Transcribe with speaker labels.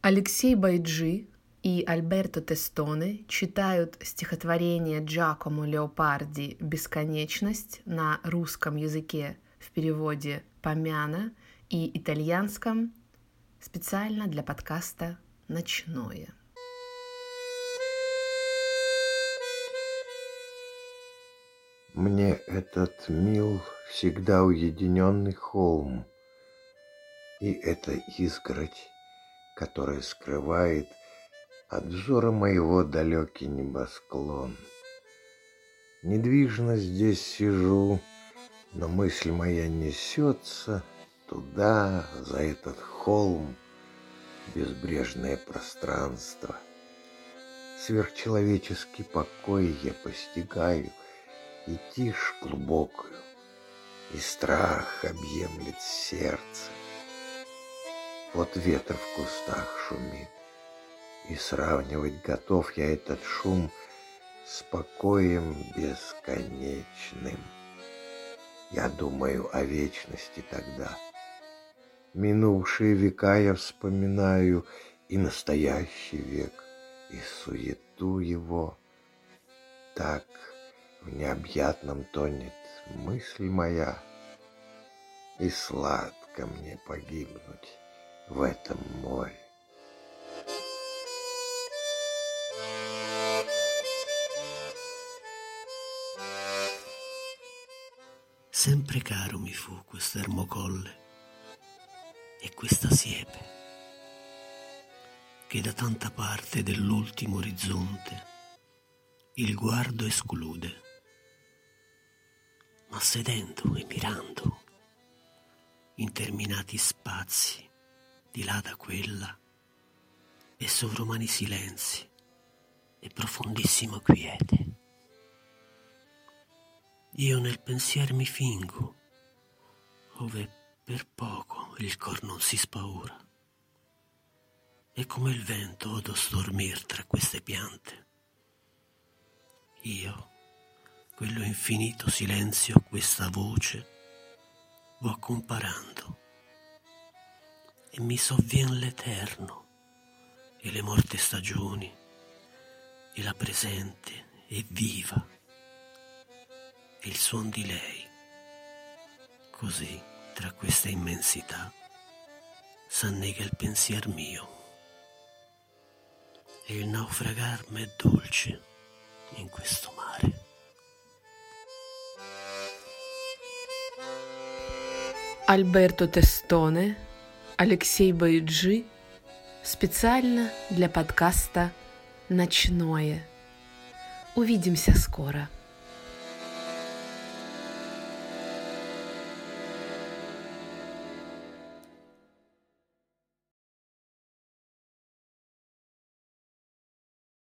Speaker 1: Алексей Байджи и Альберто Тестоне читают стихотворение Джакомо Леопарди «Бесконечность» на русском языке в переводе Помяна и итальянском специально для подкаста «Ночное».
Speaker 2: Мне этот мил всегда уединенный холм, и эта изгородь, которая скрывает от взора моего далекий небосклон. Недвижно здесь сижу, но мысль моя несется туда, за этот холм, безбрежное пространство. Сверхчеловеческий покой я постигаю, и тишь глубокую, и страх объемлет сердце. Вот ветер в кустах шумит, и сравнивать готов я этот шум с покоем бесконечным. Я думаю о вечности тогда. Минувшие века я вспоминаю, и настоящий век, и суету его. Так в необъятном тонет мысль моя, и сладко мне погибнуть в этом море.
Speaker 3: Sempre caro mi fu quest'ermo colle e questa siepe che da tanta parte dell'ultimo orizzonte il guardo esclude, ma sedendo e mirando interminati spazi di là da quella e sovrumani silenzi e profondissima quiete. Io nel pensier mi fingo, ove per poco il cor non si spaura, e come il vento odo stormir tra queste piante. Io, quello infinito silenzio, questa voce, vo comparando, e mi sovvien l'eterno, e le morte stagioni, e la presente e viva, e il suon di lei. Così, tra questa immensità, s'annega il pensier mio, e il naufragar m'è dolce in questo mare.
Speaker 1: Альберто Тестоне, Алексей Байджи специально для подкаста «Ночное». Увидимся скоро.